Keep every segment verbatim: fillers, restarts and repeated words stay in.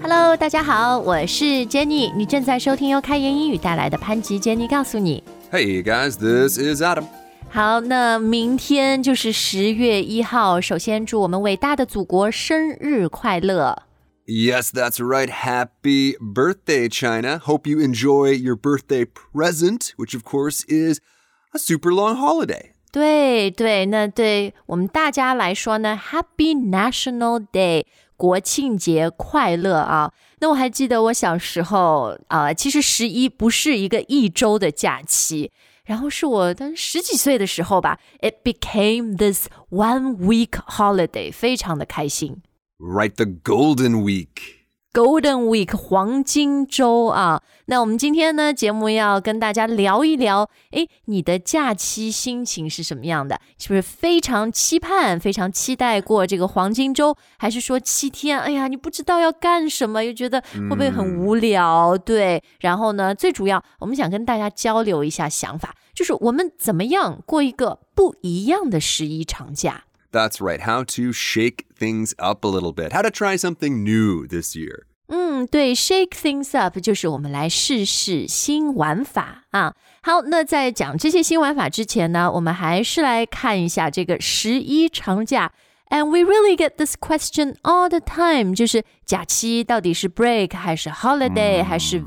Hello， 大家好，我是 Jenny， 你正在收听由开言英语带来的潘吉 Jenny 告诉你。 Hey guys, this is Adam. 好，那明天就是十月一号，首先祝我们伟大的祖国生日快乐。 Yes, that's right. Happy birthday, China. Hope you enjoy your birthday present, which of course is a super long holiday. 对对，那对我们大家来说呢 Happy National Day， 国庆节快乐啊！那我还记得我小时候啊、呃，其实十一不是一个一周的假期，然后是我当十几岁的时候吧 ，It became this one week holiday， 非常的开心。 Right, the Golden Week.Golden Week 黄金周啊，那我们今天呢节目要跟大家聊一聊，诶，你的假期心情是什么样的？是不是非常期盼、非常期待过这个黄金周，还是说七天，哎呀，你不知道要干什么，又觉得会不会很无聊？嗯、对，然后呢，最主要我们想跟大家交流一下想法，就是我们怎么样过一个不一样的十一长假。 That's right. How to shake things up a little bit. How to try something new this year. 嗯，对 ，shake things up 就是我们来试试新玩法啊。好，那在讲这些新玩法之前呢，我们还是来看一下这个十一长假。And we really get this question all the time， 就是假期到底是 break 还是 holiday、嗯、还是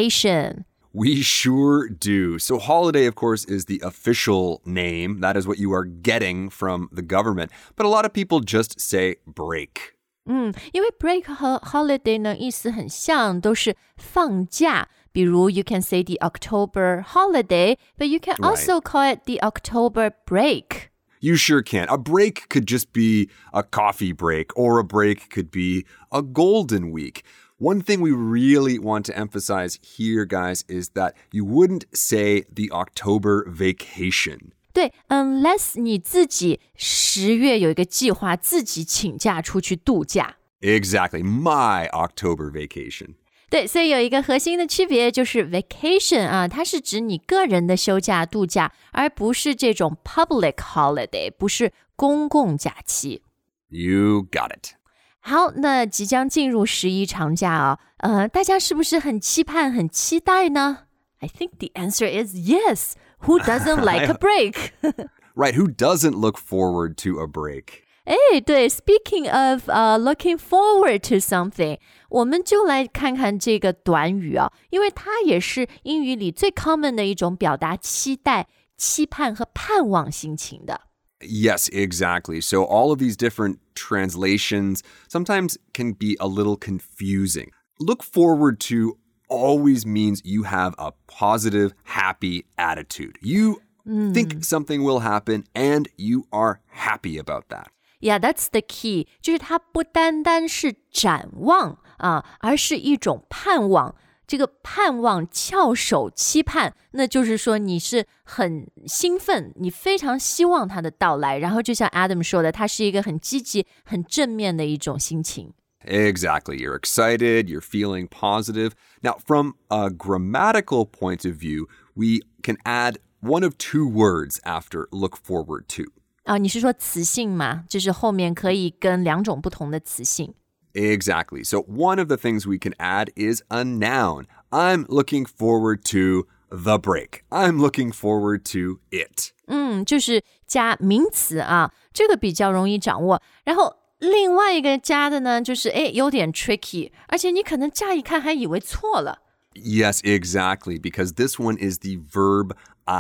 vacation？We sure do. So holiday, of course, is the official name. That is what you are getting from the government. But a lot of people just say break. 嗯，因为 break 和 holiday 呢意思很像，都是放假。比如 you can say the October holiday, but you can also call it the October break. You sure can. A break could just be a coffee break, or a break could be a golden week.One thing we really want to emphasize here, guys, is that you wouldn't say the October vacation. 对 unless 你自己十月有一个计划，自己请假出去度假。 Exactly, my October vacation. 对，所以有一个核心的区别就是 vacation 啊，它是指你个人的休假度假，而不是这种 public holiday， 不是公共假期。 You got it. 好，那即将进入十一长假啊、哦，呃，大家是不是很期盼、很期待呢 ？I think the answer is yes. Who doesn't like a break? Right, who doesn't look forward to a break? 哎，对 ，Speaking of、uh, looking forward to something， 我们就来看看这个短语啊，因为它也是英语里最 common 的一种表达期待、期盼和盼望心情的。 Yes, exactly. So all of these different translations sometimes can be a little confusing. Look forward to always means you have a positive, happy attitude. You mm. think something will happen and you are happy about that. Yeah, that's the key. 就是它不单单是展望啊，而是一种盼望。这个盼望、翘首期盼，那就是说你是很兴奋，你非常希望它的到来。然后就像 Adam 说的，它是一个很积极、很正面的一种心情。 Exactly. You're excited, you're feeling positive. Now, from a grammatical point of view, we can add one of two words after look forward to. 啊，你是说词性吗？就是后面可以跟两种不同的词性。 Exactly. So one of the things we can add is a noun. I'm looking forward to the break. I'm looking forward to it. 嗯，就是加名词啊，这个比较容易掌握。然后另外一个加的呢，就是诶有点 tricky， 而且你可能乍一看还以为错了。 Yes, exactly, because this one is the verb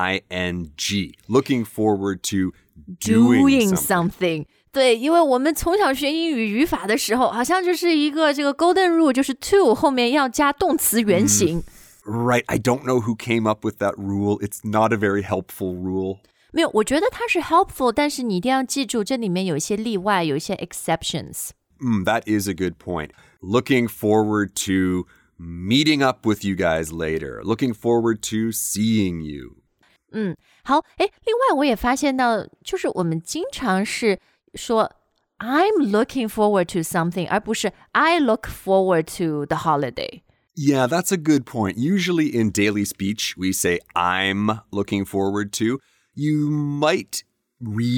ing. Looking forward to doing, doing something. something.对，因为我们从小学英语语法的时候，好像就是一个这个 golden rule， 就是 to 后面要加动词原形。 Mm, right, I don't know who came up with that rule. It's not a very helpful rule. 没有，我觉得它是 helpful， 但是你一定要记住，这里面有一些例外，有一些 exceptions. Mm, that is a good point. Looking forward to meeting up with you guys later. Looking forward to seeing you. 嗯，好，诶，另外我也发现到，就是我们经常是说 I'm looking forward to something 而不是 I look forward to the holiday. Yeah, that's a good point. Usually in daily speech, we say I'm looking forward to. You might read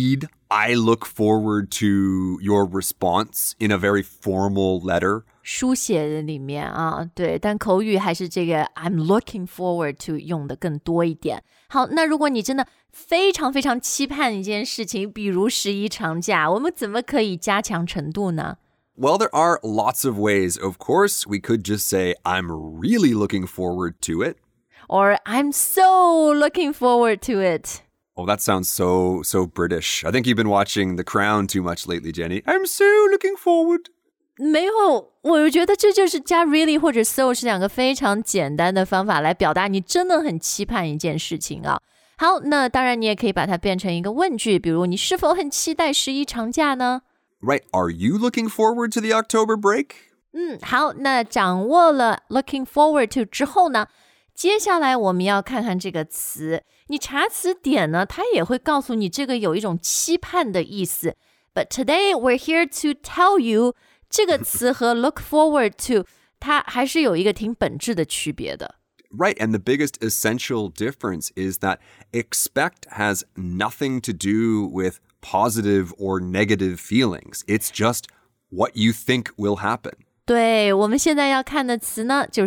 I look forward to your response in a very formal letter. 书写的里面啊，对，但口语还是这个 I'm looking forward to 用的更多一点。好，那如果你真的非常非常期盼一件事情，比如十一长假，我们怎么可以加强程度呢？ Well, there are lots of ways. Of course, we could just say, I'm really looking forward to it. Or I'm so looking forward to it. Oh, that sounds so, so British. I think you've been watching The Crown too much lately, Jenny. I'm so looking forward. 没有，我觉得这就是加 really 或者 so 是两个非常简单的方法来表达你真的很期盼一件事情啊。好，那当然你也可以把它变成一个问句，比如你是否很期待十一长假呢？ Right. Are you looking forward to the October break? 嗯，好，那掌握了 looking forward to 之后呢，接下来我们要看看这个词。你查词典呢，它也会告诉你这个有一种期盼的意思。But today we're here to tell you 这个词和 look forward to 它还是有一个挺本质的区别的。 Right, and the biggest essential difference is that expect has nothing to do with positive or negative feelings. It's just what you think will happen. 对，我们现在要看的词呢，就是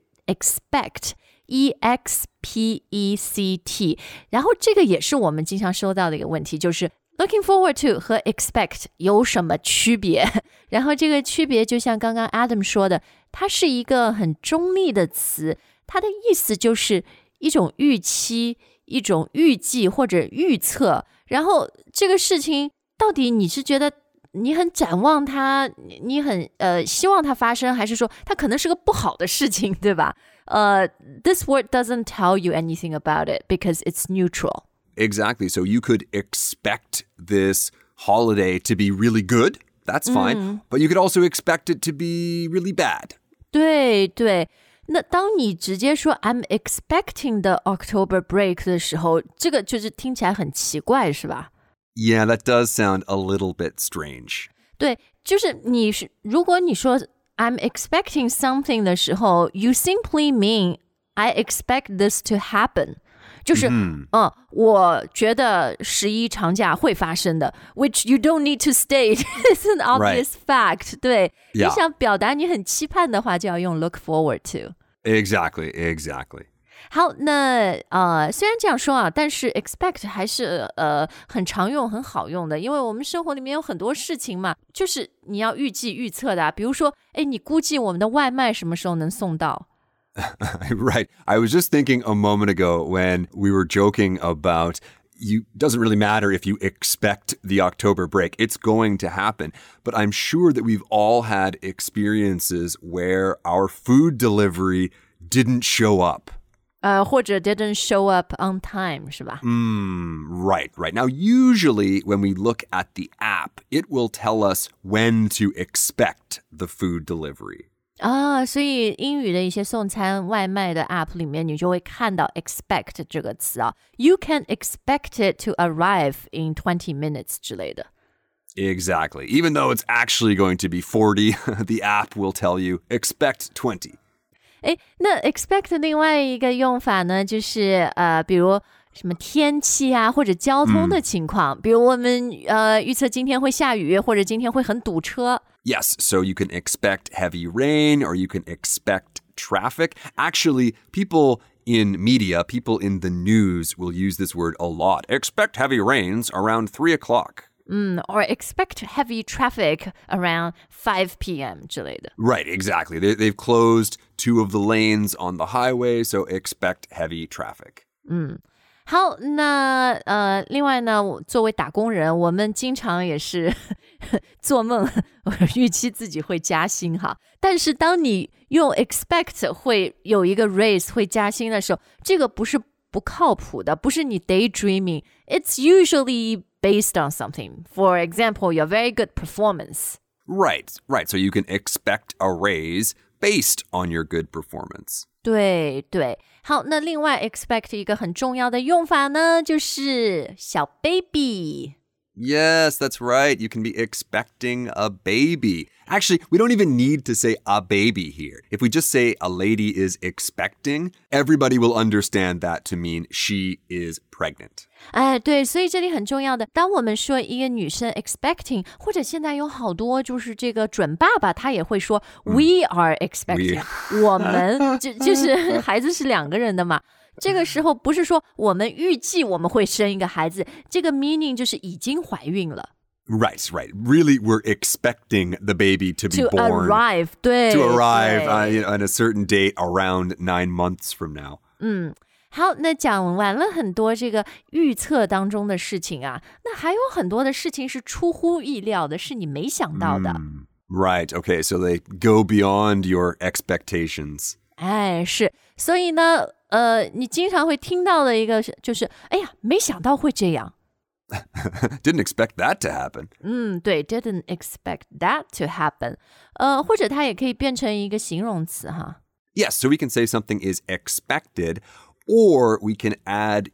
expect, E X P E C T。然后这个也是我们经常收到的一个问题，就是 looking forward to 和 expect 有什么区别？然后这个区别就像刚刚 Adam 说的，它是一个很中立的词，它的意思就是一种预期、一种预计或者预测。然后这个事情到底你是觉得你很展望它，你很呃希望它发生，还是说它可能是个不好的事情，对吧？呃、uh, ，this word doesn't tell you anything about it because it's neutral. Exactly. So you could expect this holiday to be really good. That's fine. Mm. But you could also expect it to be really bad. 对对。那当你直接说 I'm expecting the October break 的时候，这个就是听起来很奇怪，是吧？ Yeah, that does sound a little bit strange. 对，就是你是如果你说 I'm expecting something 的时候 you simply mean I expect this to happen. 就是，嗯、呃，我觉得十一长假会发生的 ，which you don't need to state. It's an obvious fact. 对， Yeah. 你想表达你很期盼的话，就要用 look forward to. Exactly, exactly. 好，那呃，虽然这样说啊，但是 expect 还是呃很常用、很好用的，因为我们生活里面有很多事情嘛，就是你要预计、预测的、啊。比如说，哎，你估计我们的外卖什么时候能送到？ Right. I was just thinking a moment ago when we were joking about you doesn't really matter if you expect the October break. It's going to happen. But I'm sure that we've all had experiences where our food delivery didn't show up. 呃，或者 didn't show up on time, 是吧？ Mm, right, right. Now, usually when we look at the app, it will tell us when to expect the food delivery. 啊，所以英语的一些送餐外卖的 app 里面，你就会看到 expect 这个词啊。You can expect it to arrive in twenty minutes 之类的。 Exactly. Even though it's actually going to be forty, the app will tell you expect twenty. 诶，那 expect 另外一个用法呢，就是呃，比如什么天气啊，或者交通的情况，嗯、比如我们呃预测今天会下雨，或者今天会很堵车。 Yes, so you can expect heavy rain or you can expect traffic. Actually, people in media, people in the news will use this word a lot. Expect heavy rains around three o'clock. Mm, or expect heavy traffic around five p.m. 之类的。 Right, exactly. They, they've closed two of the lanes on the highway, so expect heavy traffic. 嗯。好，那呃，另外呢，作为打工人，我们经常也是做梦，预期自己会加薪哈。但是当你用 expect 会有一个 raise 会加薪的时候，这个不是不靠谱的，不是你 daydreaming. It's usually based on something. For example, your very good performance. Right, right. So you can expect a raise based on your good performance. 对对，好，那另外 expect 一个很重要的用法呢，就是小 baby。 Yes, that's right. You can be expecting a baby. Actually, we don't even need to say a baby here. If we just say a lady is expecting, everybody will understand that to mean she is pregnant. 哎，对，所以这里很重要的，当我们说一个女生 expecting， 或者现在有好多就是这个准爸爸，他也会说、嗯、we are expecting， 我们就就是孩子是两个人的嘛。这个时候不是说我们预计我们会生一个孩子，这个 meaning 就是已经怀孕了。 Right, right. Really, we're expecting the baby to be to born. Arrive, 对 To arrive 对 uh, you know, on a certain date around nine months from now. 嗯，好，那讲完了很多这个预测当中的事情啊，那还有很多的事情是出乎意料的，是你没想到的。 Mm, right, okay, so they go beyond your expectations. 哎，是，所以呢，呃，你经常会听到的一个就是，哎呀，没想到会这样。 Didn't expect that to happen. 嗯，对 ，didn't expect that to happen. 呃，或者它也可以变成一个形容词哈。 Yes, so we can say something is expected, or we can add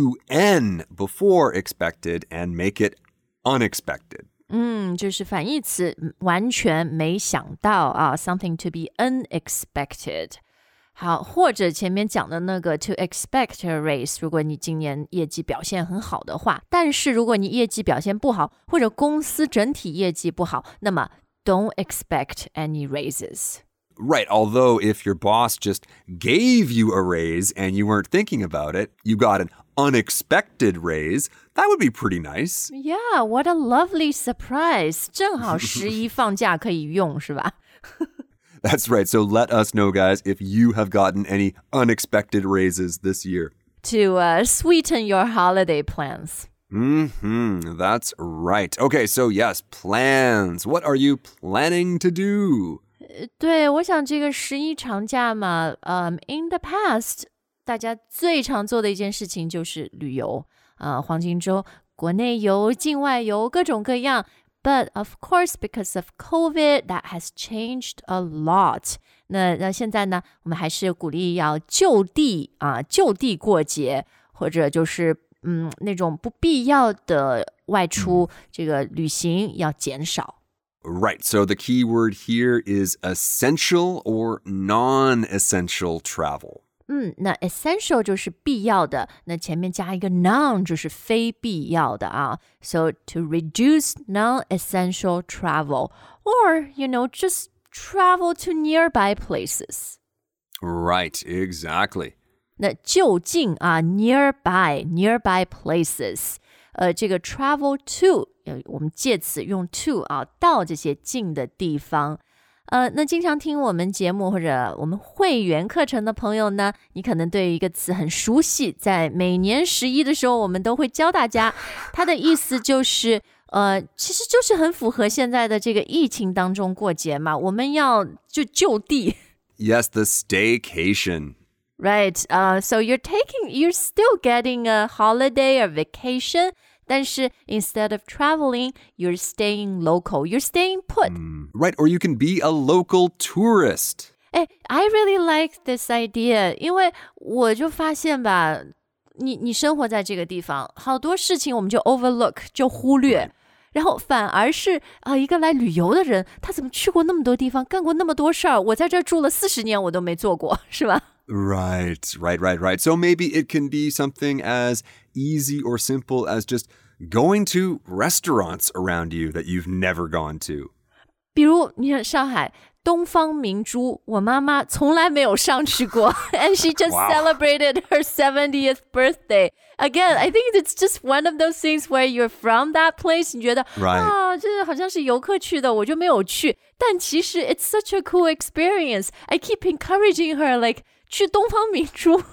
un before expected and make it unexpected. 嗯，就是反义词，完全没想到啊 ，something to be unexpected。好，或者前面讲的那个 to expect a raise， 如果你今年业绩表现很好的话，但是如果你业绩表现不好，或者公司整体业绩不好，那么 don't expect any raises. Right, although if your boss just gave you a raise and you weren't thinking about it, you got an unexpected raise, that would be pretty nice. Yeah, what a lovely surprise. 正好十一放假可以用，是吧？ That's right. So let us know, guys, if you have gotten any unexpected raises this year. To uh, sweeten your holiday plans. Mm-hmm. That's right. Okay, so yes, plans. What are you planning to do? 对，我想这个十一长假嘛，嗯、um, ，in the past， 大家最常做的一件事情就是旅游啊、呃，黄金周，国内游、境外游，各种各样。But of course, because of COVID, that has changed a lot. 那那现在呢，我们还是鼓励要就地啊，就地过节，或者就是嗯那种不必要的外出，这个旅行要减少。 Right. So the key word here is essential or non-essential travel. 嗯，那 essential 就是必要的，那前面加一个 non 就是非必要的啊。So to reduce non-essential travel, or you know, just travel to nearby places. Right, exactly. 那就近啊 ，nearby nearby places， 呃，这个 travel to， 我们介词用 to 啊，到这些近的地方。呃，那经常听我们节目或者我们会员课程的朋友呢，你可能对一个词很熟悉，在每年十一的时候，我们都会教大家，它的意思就是，呃，其实就是很符合现在的这个疫情当中过节嘛，我们要就就地。 Yes, the staycation. Right, uh, so you're taking, you're still getting a holiday or vacation, 但是 instead of traveling, you're staying local, you're staying put. Mm, right, or you can be a local tourist. 哎 I really like this idea, 因为我就发现吧，你你生活在这个地方，好多事情我们就 overlook 就忽略，然后反而是啊、呃、一个来旅游的人，他怎么去过那么多地方，干过那么多事儿，我在这儿住了四十年我都没做过，是吧？ Right, right, right, right. So maybe it can be something as easy or simple as just going to restaurants around you that you've never gone to. 比如你看上海东方明珠，我妈妈从来没有上去过，and she just Wow. celebrated her seventieth birthday. Again, I think it's just one of those things where you're from that place. 你觉得 Right. 啊，这好像是游客去的，我就没有去。但其实 it's such a cool experience. I keep encouraging her, like 去东方明珠。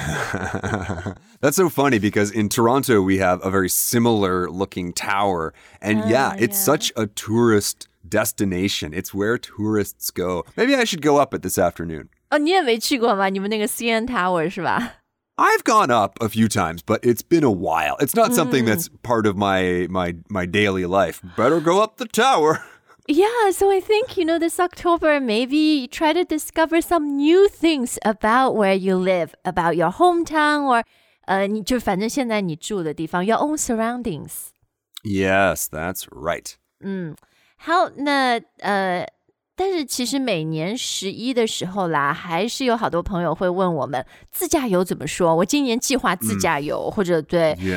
That's so funny because in Toronto we have a very similar looking tower. And uh, yeah, it's yeah. such a tourist destination. It's where tourists go. Maybe I should go up it this afternoon. 哦，你也没去过吗？你们那个 C N Tower 是吧？ I've gone up a few times, but it's been a while. It's not something that's part of my my my daily life. Better go up the tower. Yeah, so I think, you know, this October, maybe try to discover some new things about where you live, about your hometown, or 呃，你就反正现在你住的地方 your own surroundings. Yes, that's right. 嗯，好，那呃，但是其实每年十一的时候啦，还是有好多朋友会问我们自驾游怎么说？我今年计划自驾游，或者对。 Yeah.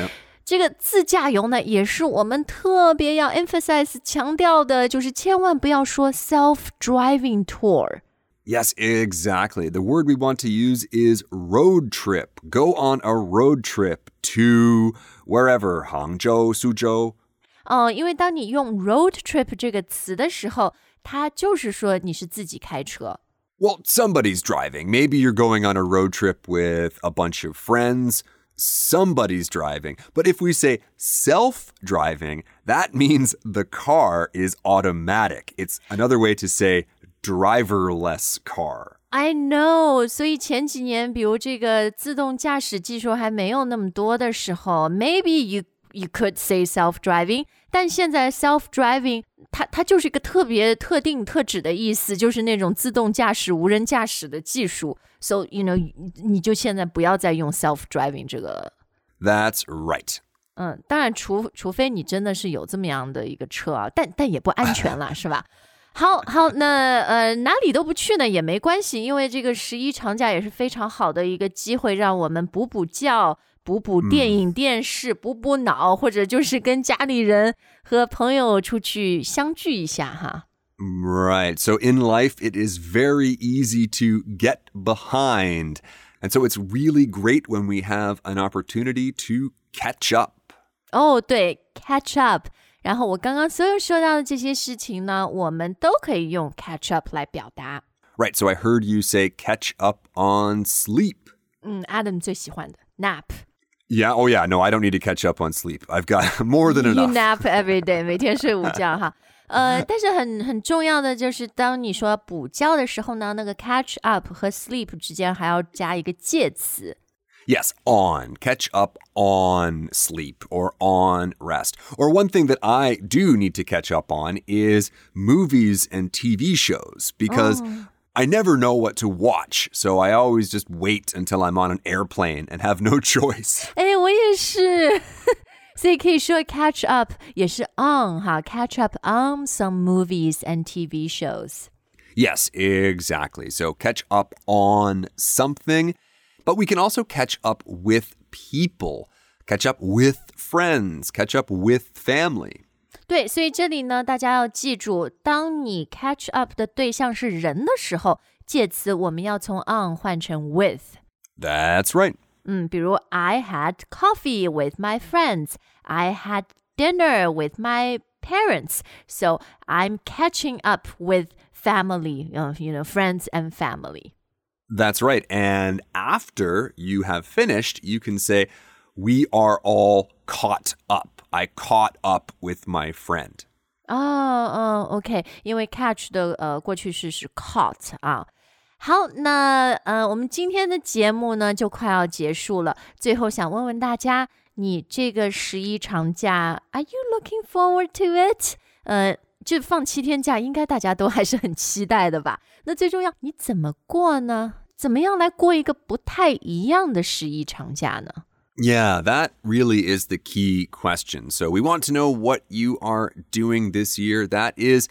这个自驾游呢，也是我们特别要 emphasize 强调的，就是千万不要说 self-driving tour。Yes, exactly. The word we want to use is road trip. Go on a road trip to wherever, Hangzhou, Suzhou. 哦，因为当你用 road trip 这个词的时候，它就是说你是自己开车。 Well, somebody's driving. Maybe you're going on a road trip with a bunch of friends.Somebody's driving. But if we say self-driving, that means the car is automatic. It's another way to say driverless car. I know. 所以前几年，比如这个自动驾驶技术还没有那么多的时候 maybe you, you could say self-driving. 但现在 self-driving, 它, 它就是一个特别特定特指的意思，就是那种自动驾驶、无人驾驶的技术。So, you know, 你就现在不要再用 self-driving 这个。 That's right. 嗯，当然除除非你真的是有这么样的一个车啊，但但也不安全啦，是吧？好好，那呃哪里都不去呢也没关系，因为这个十一长假也是非常好的一个机会，让我们补补觉。补补电影电视、嗯、补补脑，或者就是跟家里人和朋友出去相聚一下哈。 Right. So in life, it is very easy to get behind. And so it's really great when we have an opportunity to catch up. 哦，对 catch up. 然后我刚刚所有说到的这些事情呢，我们都可以用 catch up 来表达。 Right. So I heard you say catch up on sleep. 嗯 Adam 最喜欢的 nap.Yeah, oh yeah, no, I don't need to catch up on sleep. I've got more than enough. You nap every day, 每天睡午觉哈。呃，但是很很重要的就是，当你说补觉的时候呢，那个 catch up 和 sleep 之间还要加一个介词。 Yes, on. Catch up on sleep or on rest. Or one thing that I do need to catch up on is movies and T V shows because oh.I never know what to watch, so I always just wait until I'm on an airplane and have no choice. 哎，我也是，所以可以说 catch up 也是 on 哈 catch up on some movies and T V shows. Yes, exactly. So catch up on something, but we can also catch up with people, catch up with friends, catch up with family. 对，所以这里呢，大家要记住，当你 catch up 的对象是人的时候，介词我们要从 on 换成 with. That's right. 嗯，比如 I had coffee with my friends. I had dinner with my parents. So I'm catching up with family, you know, friends and family. That's right. And after you have finished, you can say, we are all caught up.I caught up with my friend. 哦哦 OK 因为 catch 的呃过去式是 caught 啊。好，那呃我们今天的节目呢就快要结束了。最后想问问大家，你这个十一长假 Are you looking forward to it？ 呃，就放七天假，应该大家都还是很期待的吧？那最重要，你怎么过呢？怎么样来过一个不太一样的十一长假呢 ？Yeah, that really is the key question. So we want to know what you are doing this year that is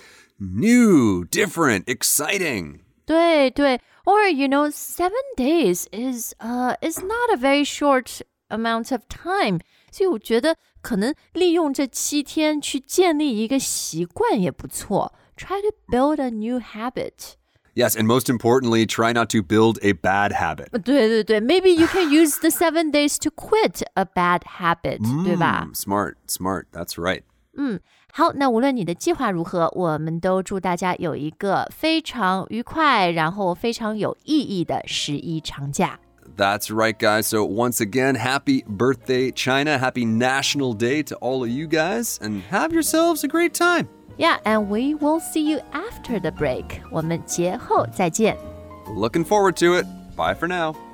new, different, exciting. 对对 Or, you know, seven days is, uh, is not a very short amount of time. 所以我觉得可能利用这七天去建立一个习惯也不错。Try to build a new habit.Yes, and most importantly, try not to build a bad habit. 对对对 Maybe you can use the seven days to quit a bad habit, 对吧 Smart, smart, that's right. 嗯，好，那无论你的计划如何，我们都祝大家有一个非常愉快，然后非常有意义的十一长假。 That's right, guys. So once again, happy birthday, China. Happy National Day to all of you guys. And have yourselves a great time.Yeah, and we will see you after the break. 我们节后再见。 Looking forward to it. Bye for now.